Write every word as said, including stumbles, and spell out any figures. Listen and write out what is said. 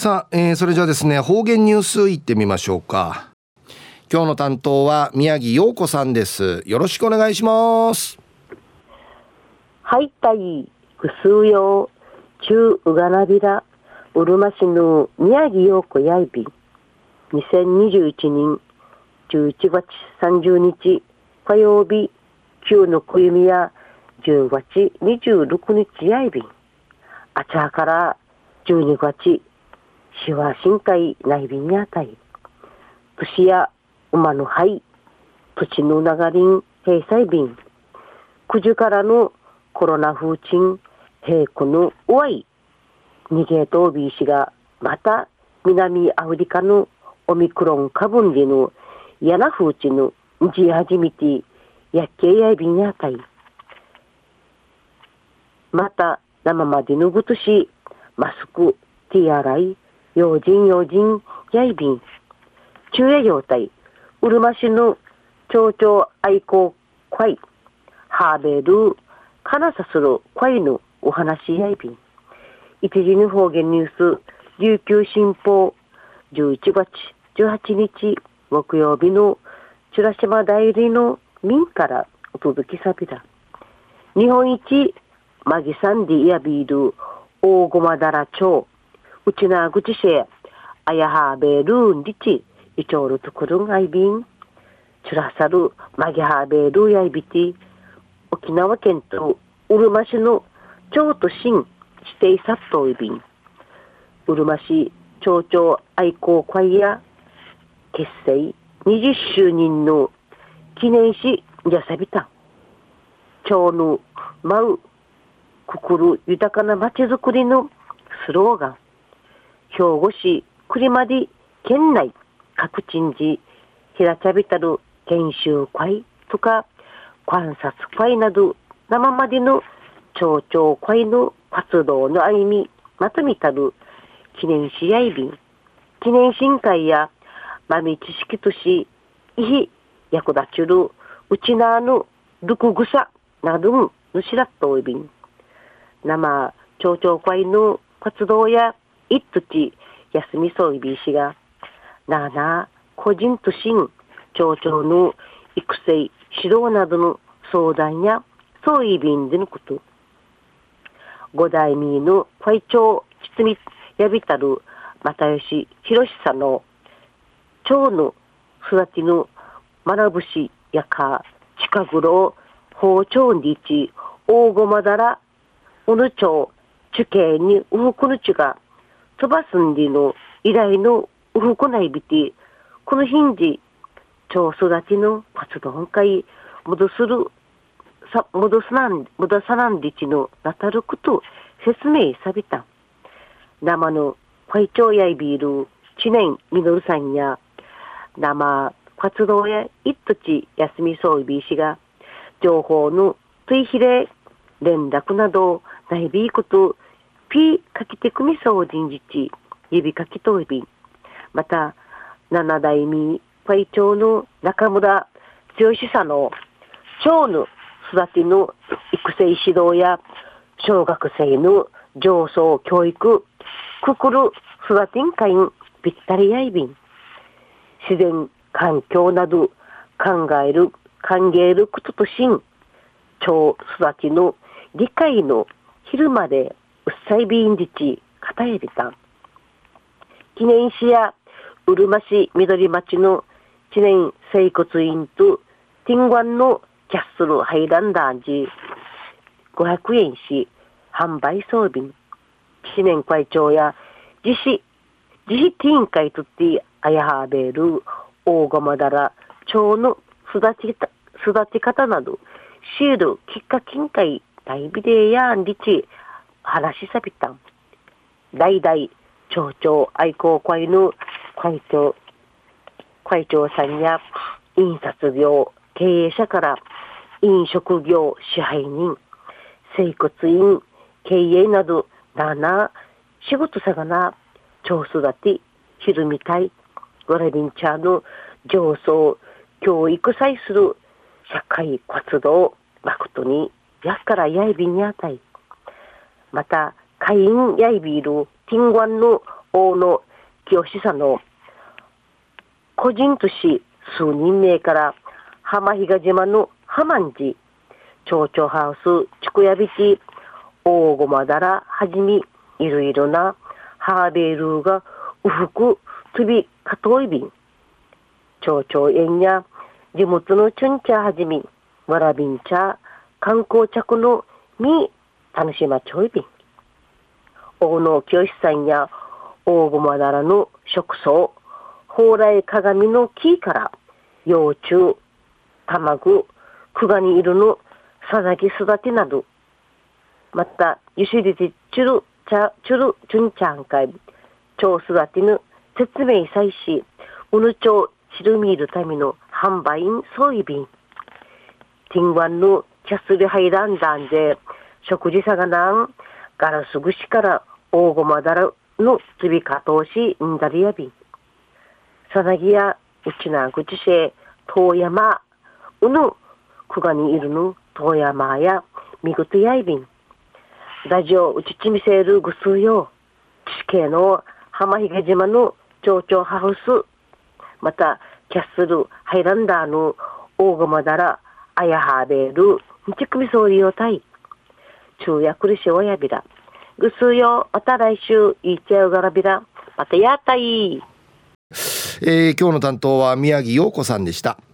さあ、えー、それじゃあですね、方言ニュースいってみましょうか。今日の担当は宮城陽子さんです。よろしくお願いします。 はいたいぐすうよう中うがなびらうるま市の宮城陽子やいびにせんにじゅういちねんじゅういちがつさんじゅうにち火曜日旧のくゆみやじゅうがつにじゅうろくにちやいびんあちゃからじゅうにがつしわしんかいないびんにあたい年や馬のはい土の流れん閉鎖便くじからのコロナ風鎮平行のおわい逃げとびしがまた南アフリカのオミクロン株でのやな風鎮のじ始めてやっけやいびんやたいまた生までのぐとしマスクティアライ用心用心やいびん昼夜状態うるま市の町長愛好会ハーベルかなさする会のお話やいびん一時の方言ニュース琉球新報じゅういちがつじゅうはちにち木曜日のチュラシマ代理の民からお届けさびだ日本一マギサンディやビール大駒平町うちなぐちしえあやはべるんりちいちょうるとくるんあいびんチュラサルマギハベルやいびて沖縄県とうるま市の町都新指定殺到いびんうるま市町長愛好会や結成にじゅっしゅうねんの記念しじゃさびた町の舞うくくる豊かな町づくりのスローガン兵庫市栗まで県内各地にひらちゃびたる研修会とか観察会など生までの町長会の活動の歩みまとめたる記念しやいびん記念新会や豆知識としいひ役立ちるうちなのルクグサなどのしらっといびん生町長会の活動やいっとち休みそういびんしがなあなあ個人としん町長の育成指導などの相談やそういびんでのこと五代目の会長実みやびたる又吉博さんの町の育ちの学ぶしやか近頃包丁にち大駒だらうぬ町地形にうふくぬちが飛ばすんでの依頼のうふくないびてこのヒンジ町育ちの活動会戻するさ戻すなん戻さなんでちのなたること説明さびた生の会長やいびる知念みのるさんや生活動や一土地休みそういびしが情報の追肥で連絡などないびいことピーかけてくみそう人事地指かきといびまた七代目会長の中村剛さんの町の育ての育成指導や小学生の上層教育くくる育てん会んぴったりやいびん自然環境など考える歓迎ることとしん町育ちの理解の昼までうっさいびんじちかたえびた記念誌やうるま市緑町の知念整骨院とティンガンのキャッスルハイランダージごひゃくえんし販売装備知念会長や自費自費ティーン会とってあやはべる大釜だら町の育ち育ち方などシールきっかけん会大ビデやんりち話しさびたん代々町長愛好会の会長会長さんや印刷業経営者から飲食業支配人整骨院経営などなな仕事さがな町育てひるみたいわらびんちゃの上層教育さいする社会活動誠にやっからやいびんやたいまた会員やいびるティンガンの大野清さんの個人都市数人名から浜比嘉島の浜んじ町長ハウスちくやびち大ごまだらはじみいろいろなハーベルーがうふくとびかといびん町長園や地元のチュンチャーはじみわらびん茶観光着のみ楽しまちょいびん大野清さんや大ごまだらの食草蓬莱鏡の木から幼虫卵クガニイルのさざき育てなどまたゆしりじチュルチャチュルチュンチャンカイ蝶育てぬ説明祭しうぬ蝶チルミールための販売員そういびんティンワンのキャスリハイランダンで食事さがなんガラス串から大ごまだらのつびかとうしんだりやびんさなぎやうちなぐちせ遠山うぬくがにいるぬ遠山やみぐとやいびんラジオうちちみせるぐすよ地形の浜比嘉島の町長ハウスまたキャッスルハイランダーの大ごまだらあやはべるにちくみそうりよたい昼夜くりしおやびらぐすよまた来週いっちゃうがらびらまたやったいえー、今日の担当は宮城陽子さんでした。